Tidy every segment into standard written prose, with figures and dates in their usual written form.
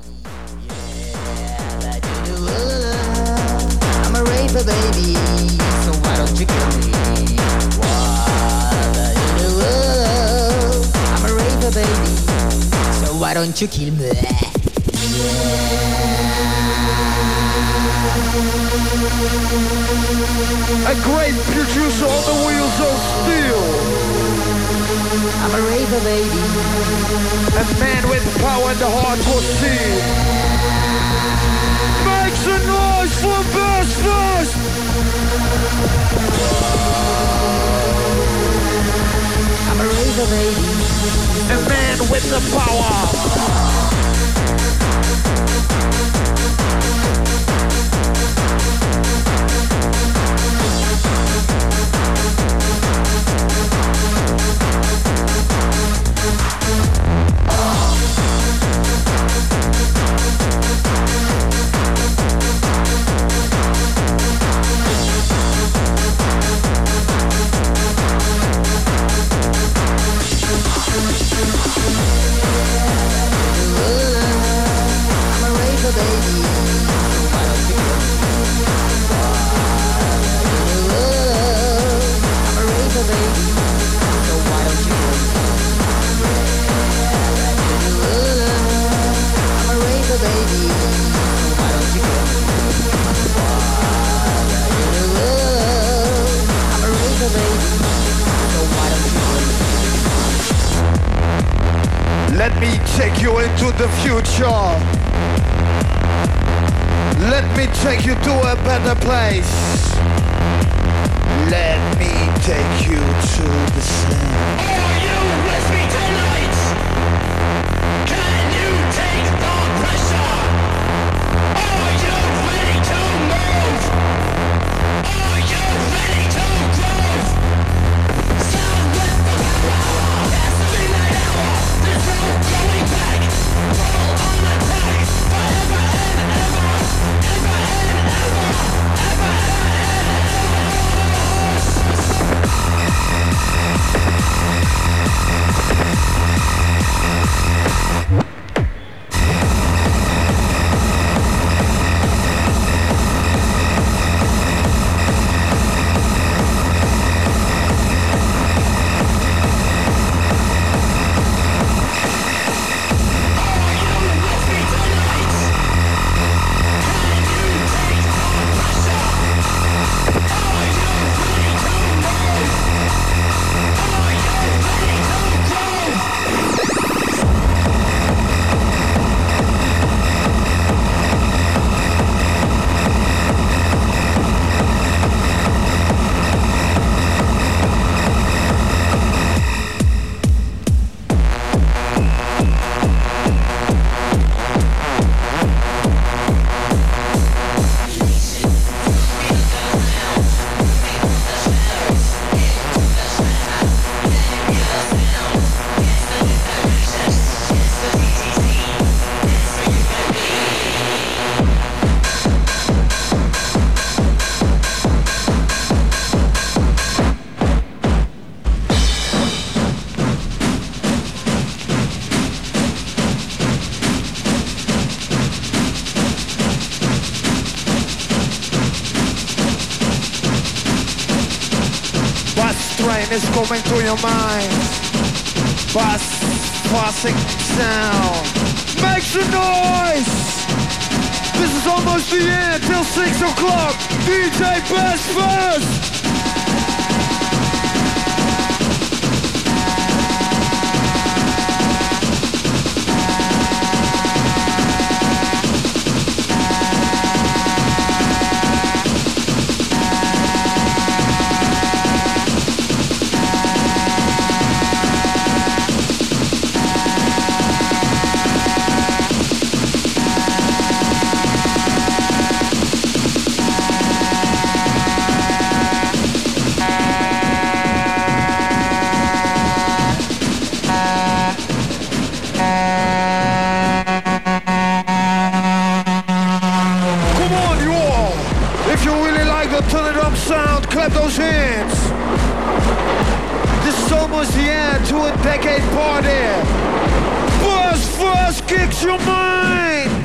I'm a raver, baby, so why don't you kill me? I'm a raver, baby, so why don't you kill me? A great producer on the wheels of steel. I'm a raver, baby. A man with power and the heart for steel. Make some noise for Business! I'm a raver, baby. A man with the power. Let me take you into the future. Let me take you to a better place. Let me take you to the sun. Are you with me tonight? Can you take the pressure? Are you ready to move? Are you ready to groove? Sound with the power. That's the midnight hour. There's no going back. Full on attack. Forever and ever. Ever and ever. Ever and ever. Is coming to your mind. Passing sound. Make some noise. This is almost the end till 6 o'clock. DJ Best first. Sound, clap those hands. This is almost the end to a decade party. Buzz first kicks your mind.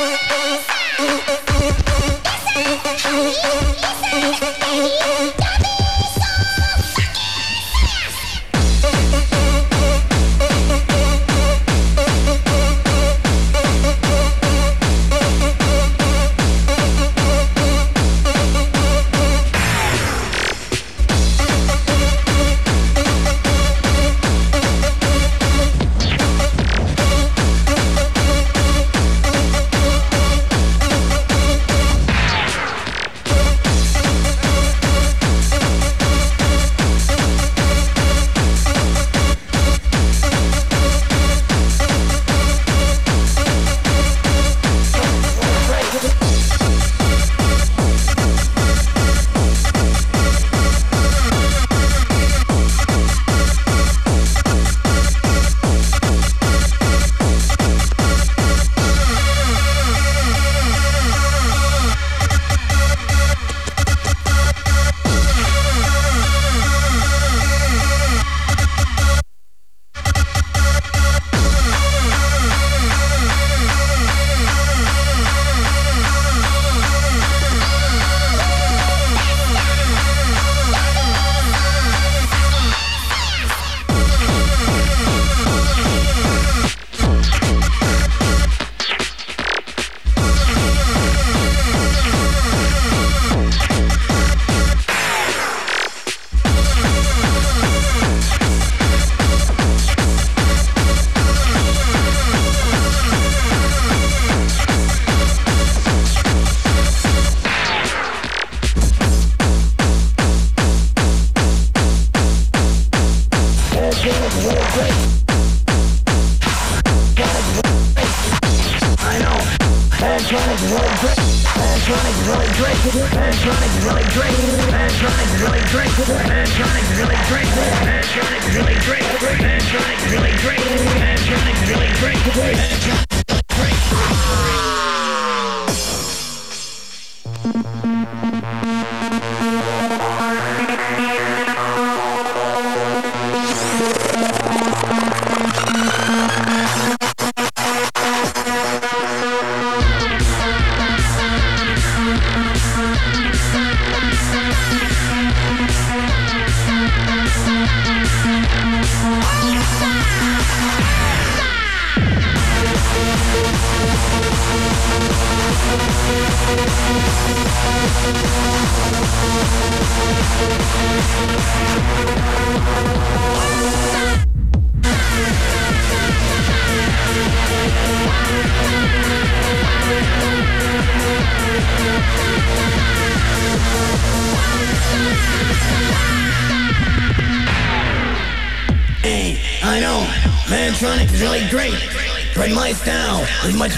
Mantronic is really great, but my style is much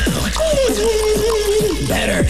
better.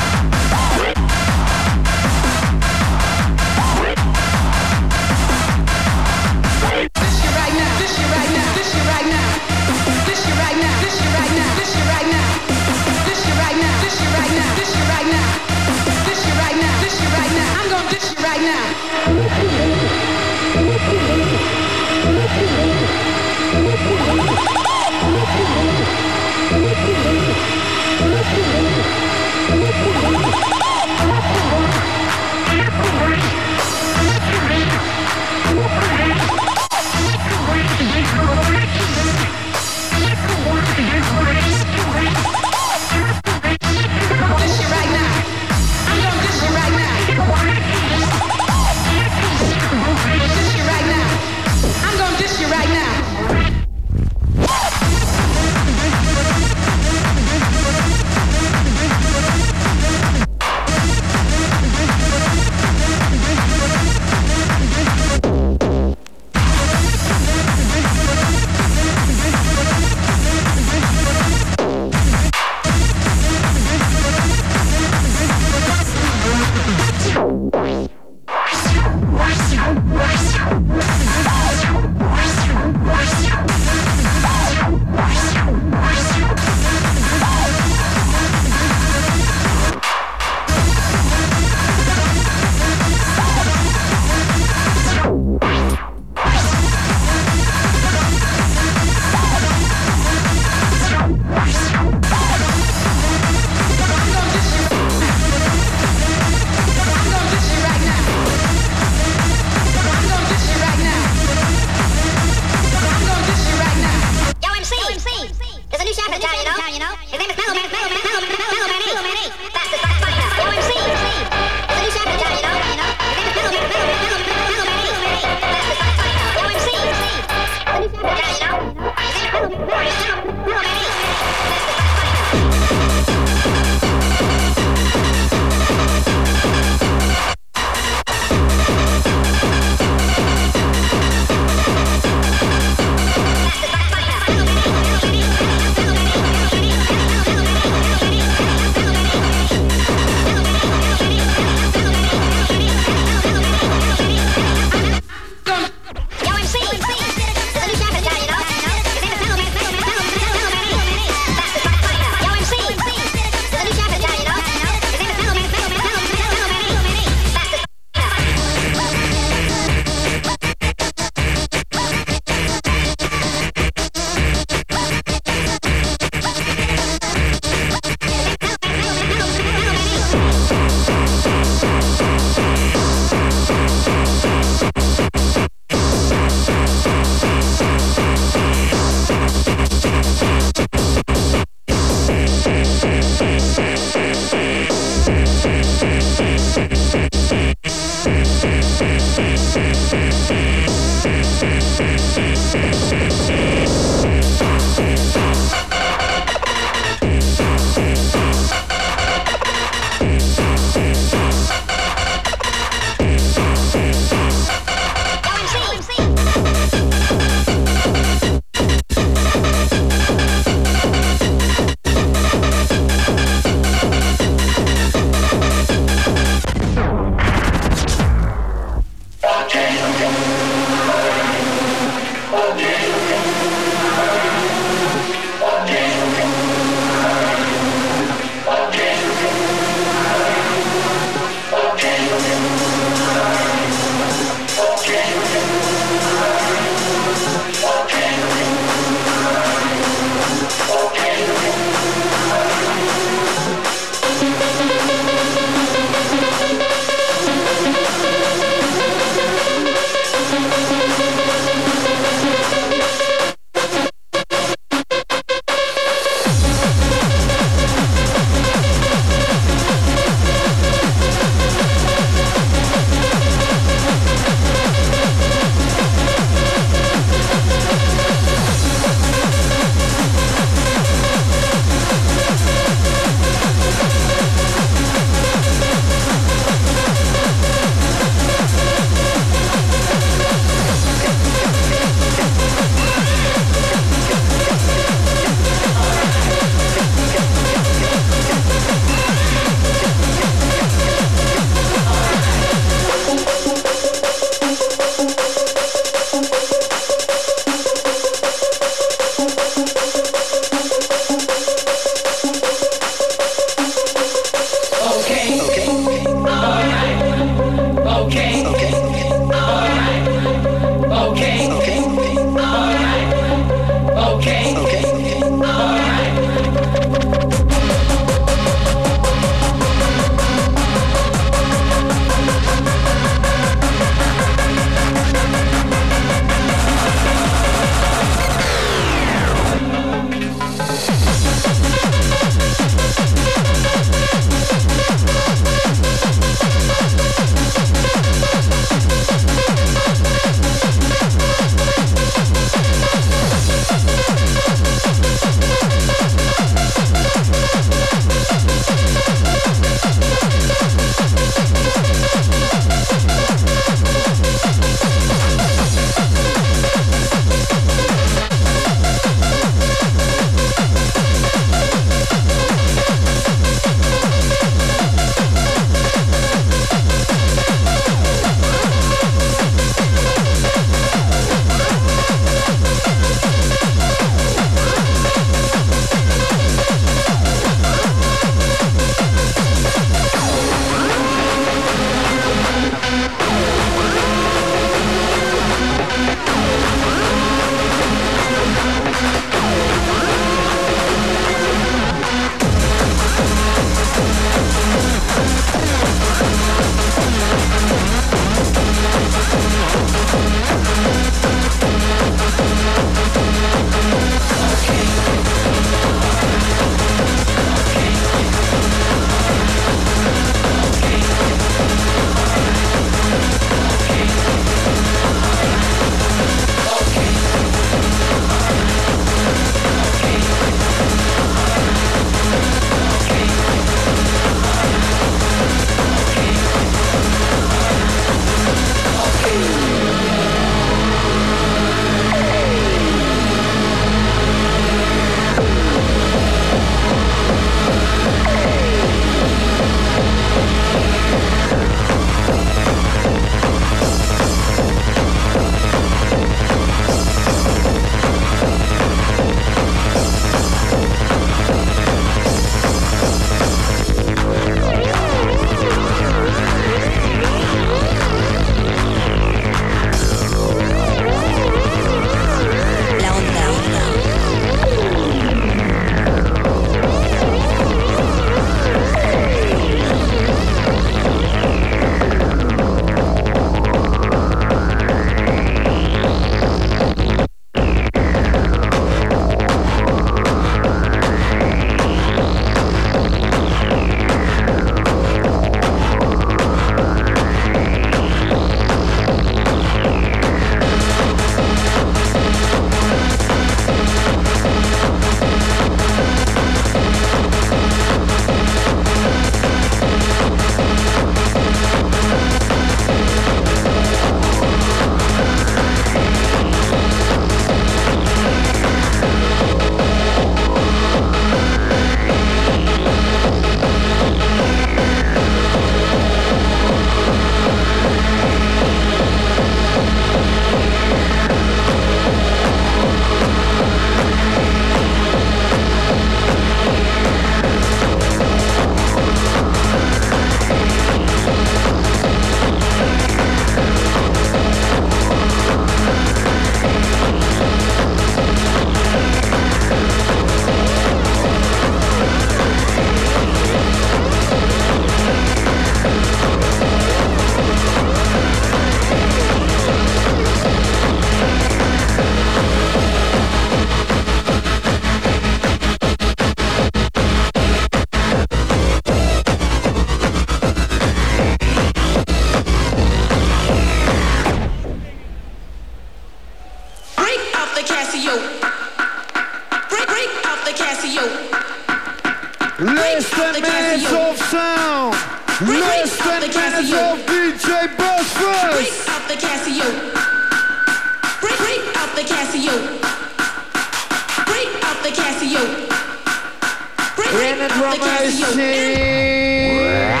Casio. Break out the Casio. Less than minutes of sound. Less than minutes of DJ Buzzfuzz. Break out the Casio. Break out the Casio. Break out the Casio. In the drum machine.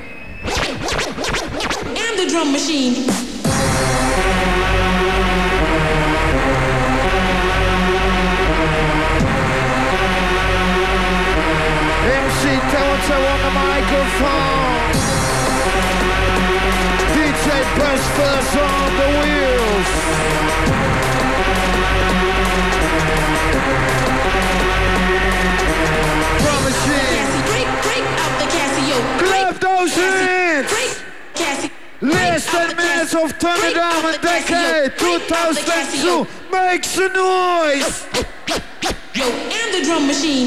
And the drum machine. MC Toto on the microphone. DJ Buzzfuzz on the wheels. Drum machine. Break out the Casio. Clap those hands. Casio. Less than minutes of Turn It Down a Decade 2002. Make some noise. Yo, and the drum machine.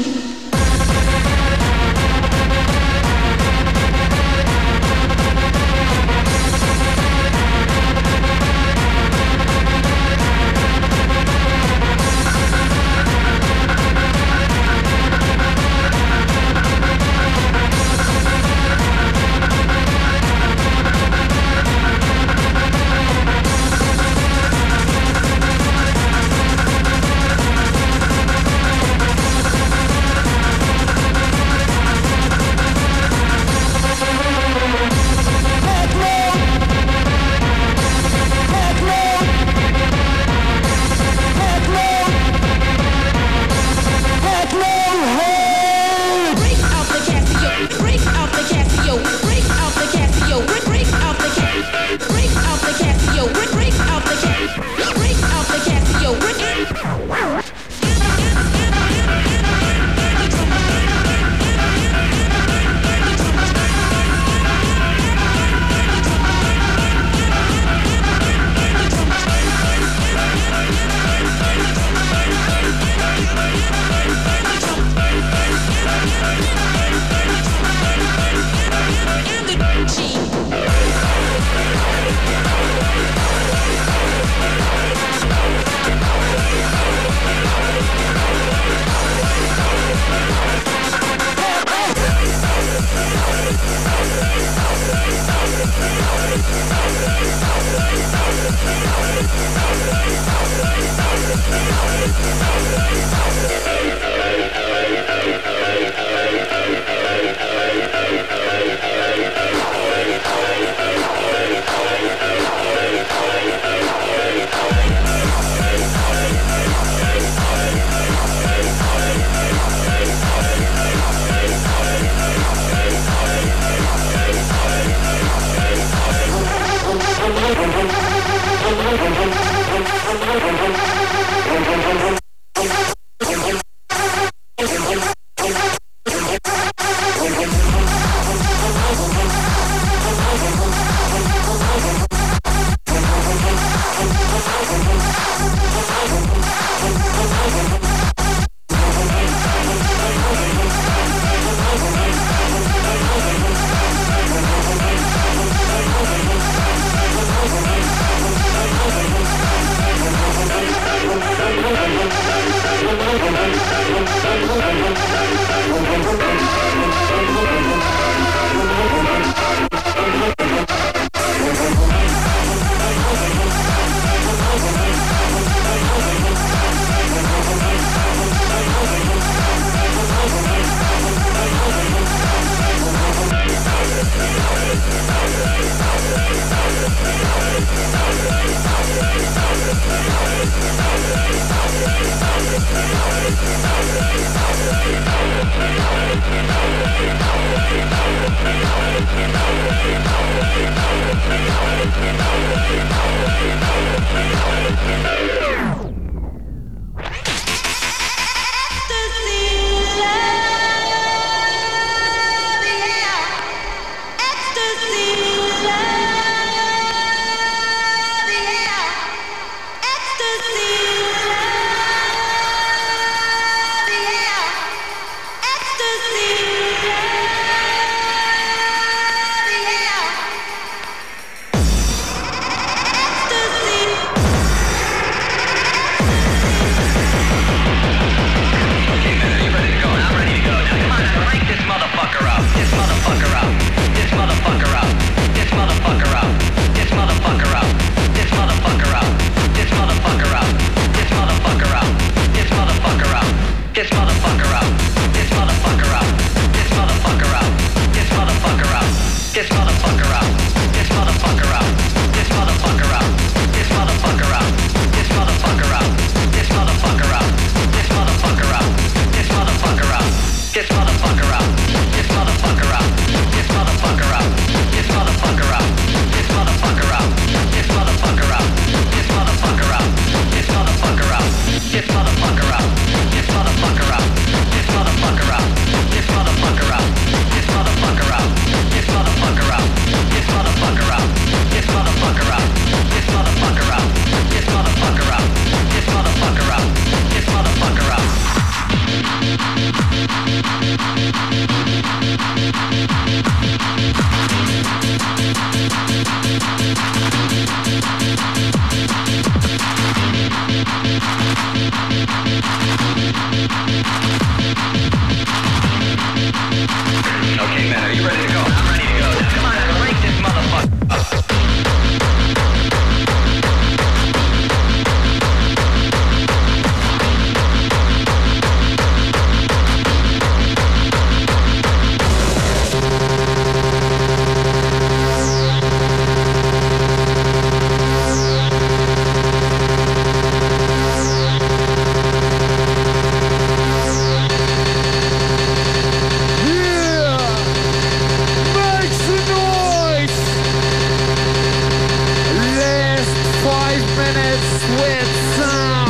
minutes with sound.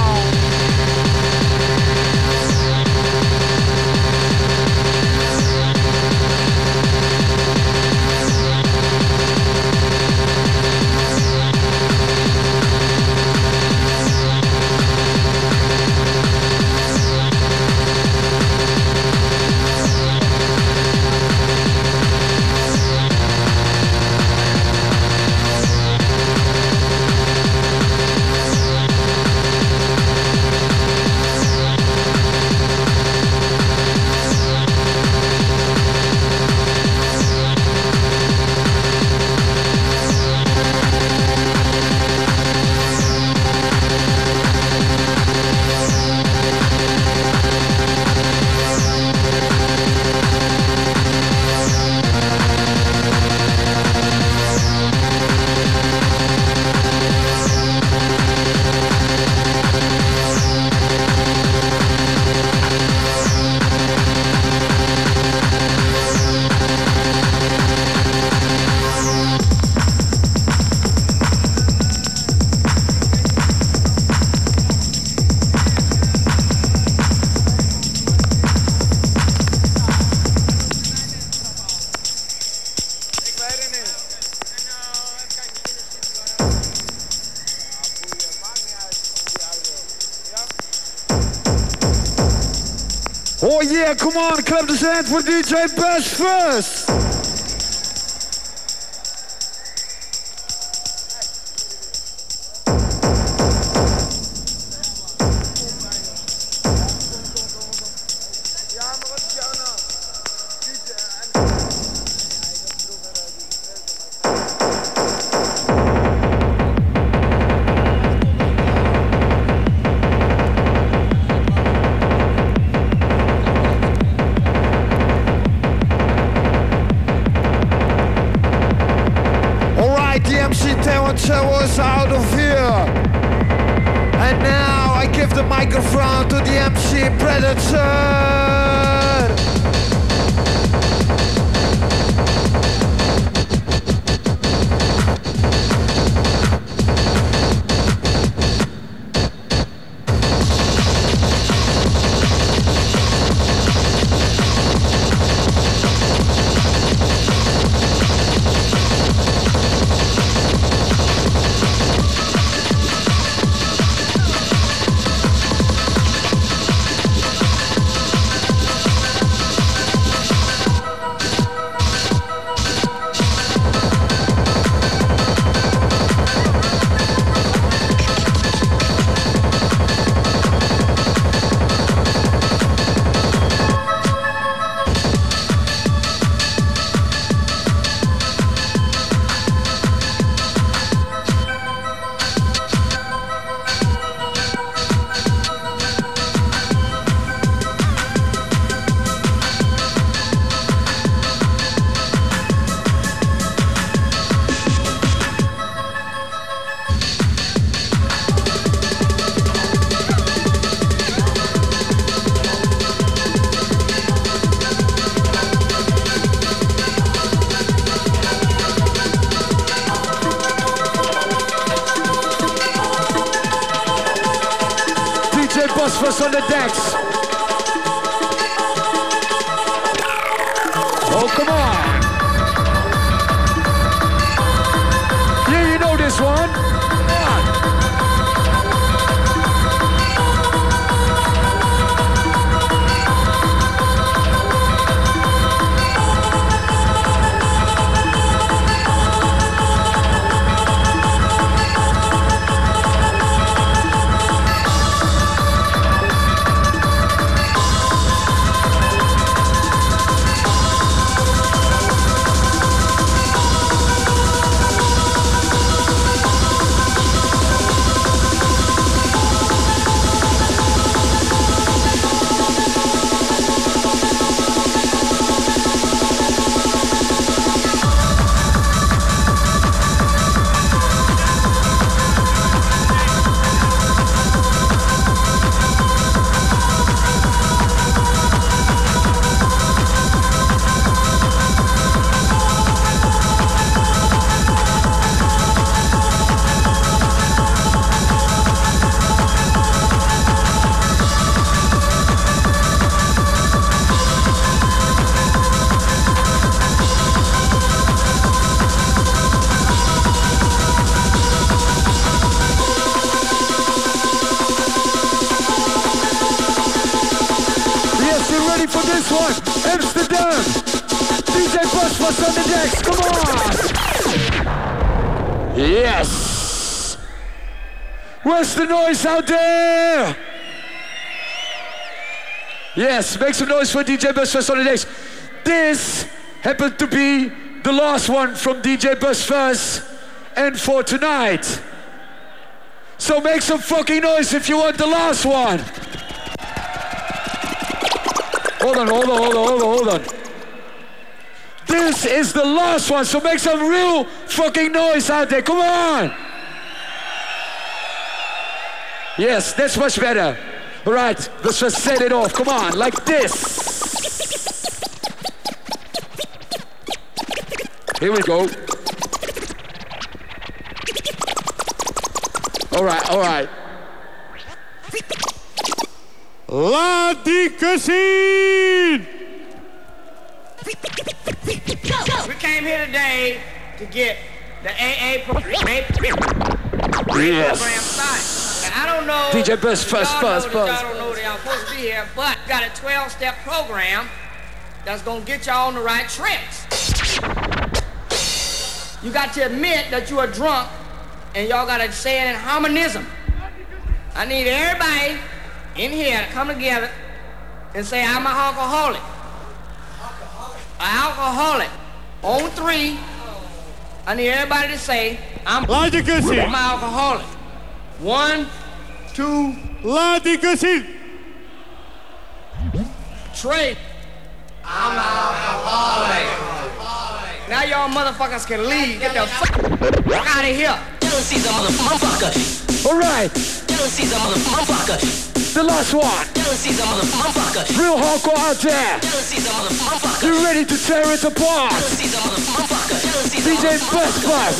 Oh yeah, come on, clap the hands for DJ Bash first. Was out of here, and now I give the microphone to the MC Predator. Phosphorus on the decks. Oh, come on. Yeah, you know this one. Come on. ready for this one? Amsterdam. DJ Buzz on the decks. Come on. Yes. Where's the noise out there? Yes, make some noise for DJ Buzz on the decks. This happened to be the last one from DJ Buzz and for tonight. So make some fucking noise if you want the last one. Hold on. This is the last one, so make some real fucking noise out there. Come on. Yes, that's much better. All right, let's just set it off. Come on, like this. Here we go. All right. Laat die gezien! We came here today to get the AA program started. And I don't know. DJ Buzz. Y'all don't know that y'all supposed to be here, but got a 12-step program that's gonna get y'all on the right tracks. You got to admit that you are drunk, and y'all gotta say it in harmonism. I need everybody in here to come together and say, I'm an alcoholic. An alcoholic. On 3, I need everybody to say, I'm an alcoholic. 1, 2, Laat die gezien! 3. I'm an alcoholic. Now y'all motherfuckers can leave. Get the fuck out of here. Jealousy's a motherfucker. All right, Jealousy's a motherfucker. the last one. Jealousy's a motherfucker. Real hardcore out there. Jealousy's a motherfucker. You ready to tear it apart? Jealousy's a motherfucker. DJ Buzz.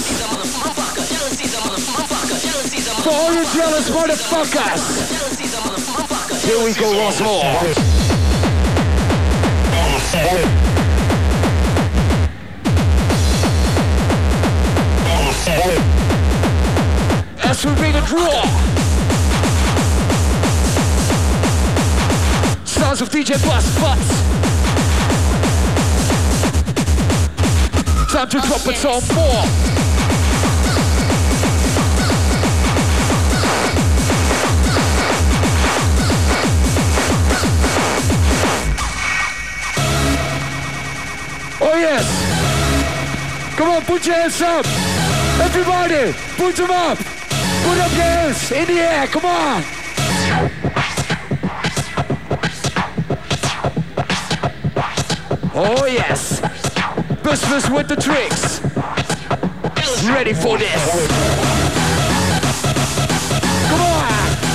For all you jealous motherfuckers. Here we go once more. As we bring it raw. Sounds of DJ Buzz. Time to drop it some more. Oh yes! Come on, put your hands up! Everybody, put them up! Put up your hands in the air, come on! Oh yes! Buzz with the tricks! Ready for this! Come on!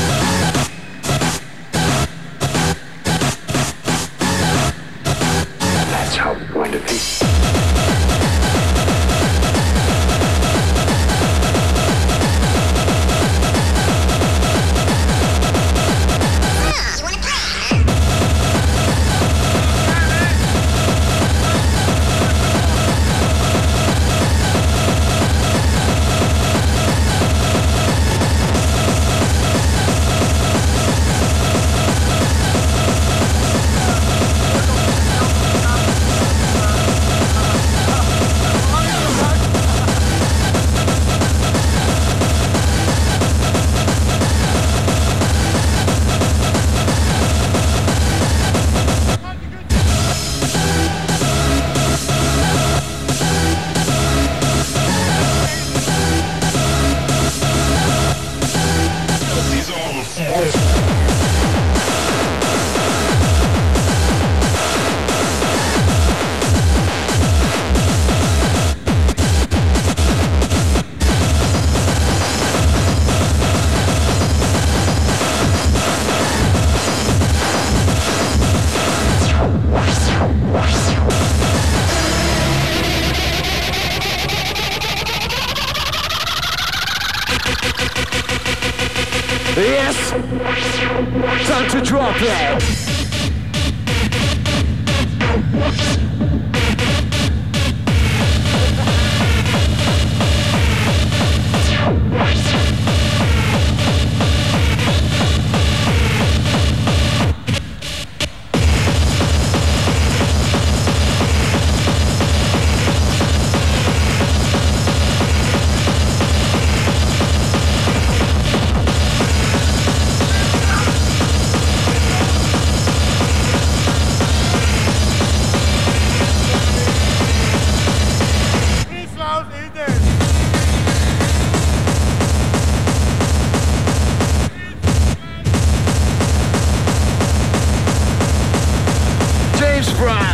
That's how it's going to be. Yes! Time to drop it!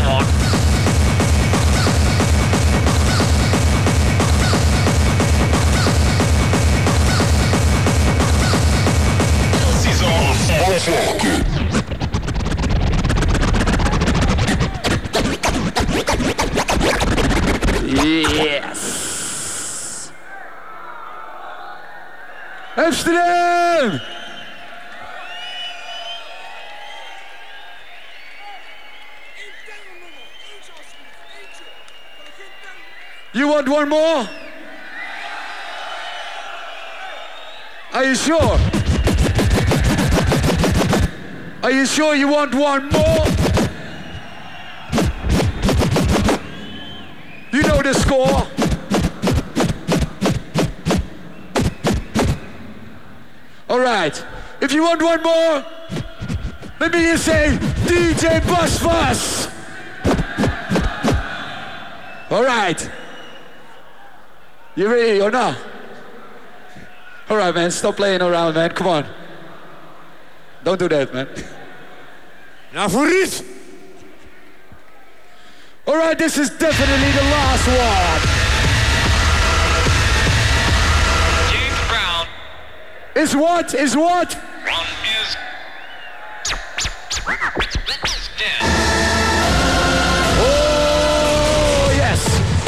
one. Kelsey's on motherfucker. Yes! Amsterdam! You want one more? Are you sure? Are you sure you want one more? You know the score. All right. If you want one more, let me just say DJ Bus Fuss. All right. You ready or not? All right, man. Stop playing around, man. Come on. Don't do that, man. Nou voor Ries. All right, this is definitely the last one. James Brown. Is what? Is what? One is dead. Oh, yes.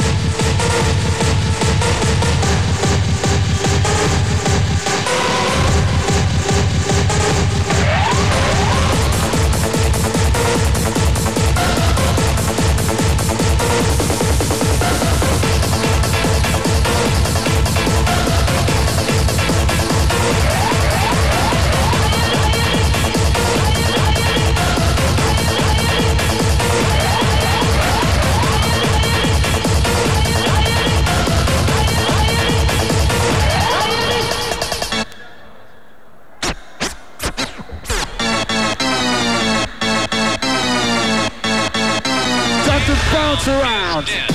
Bounce around. Dead.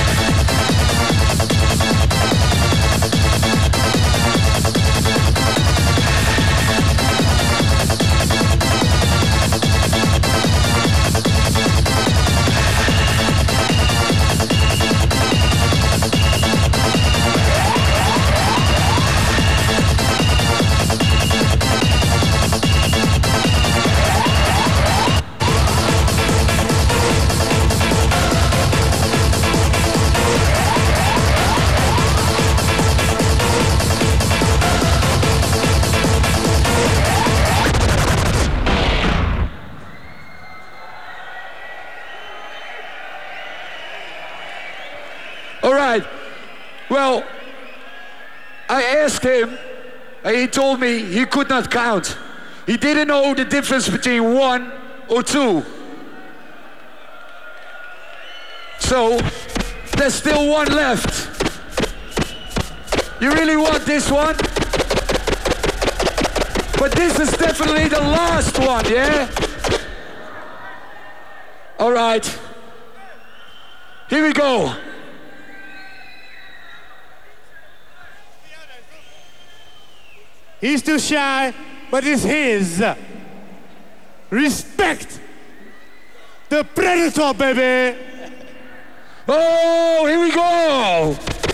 All right. Well, I asked him, and he told me he could not count. He didn't know the difference between 1 or 2. So, there's still one left. You really want this one? But this is definitely the last one, yeah? All right. Here we go. He's too shy, but it's his. Respect the Predator, baby. Oh, here we go.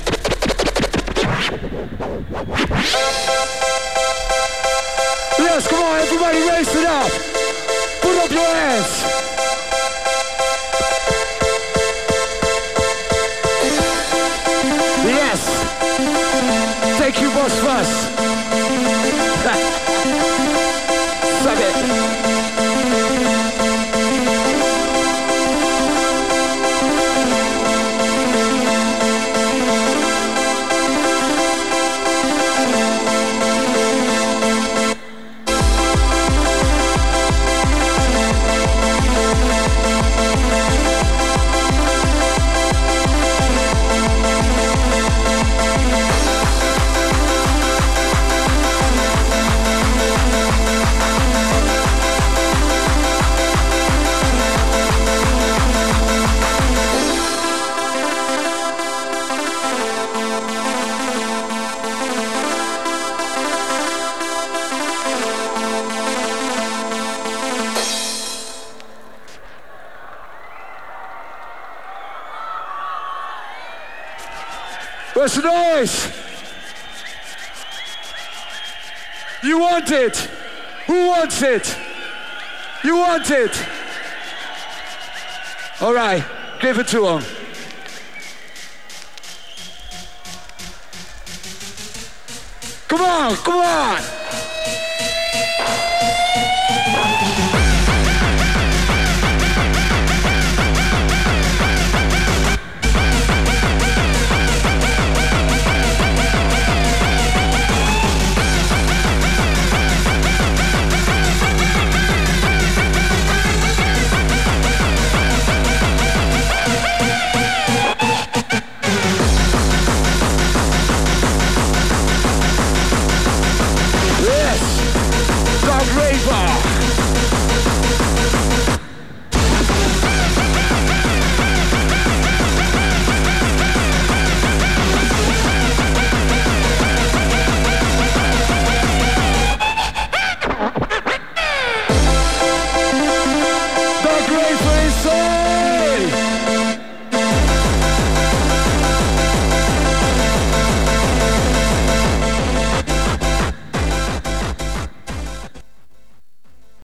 Yes, come on, everybody raise it up. Put up your hands. Yes. Thank you, Boss Fuss. Suck it. Where's the noise? You want it? Who wants it? You want it? All right, give it to him. Come on, come on.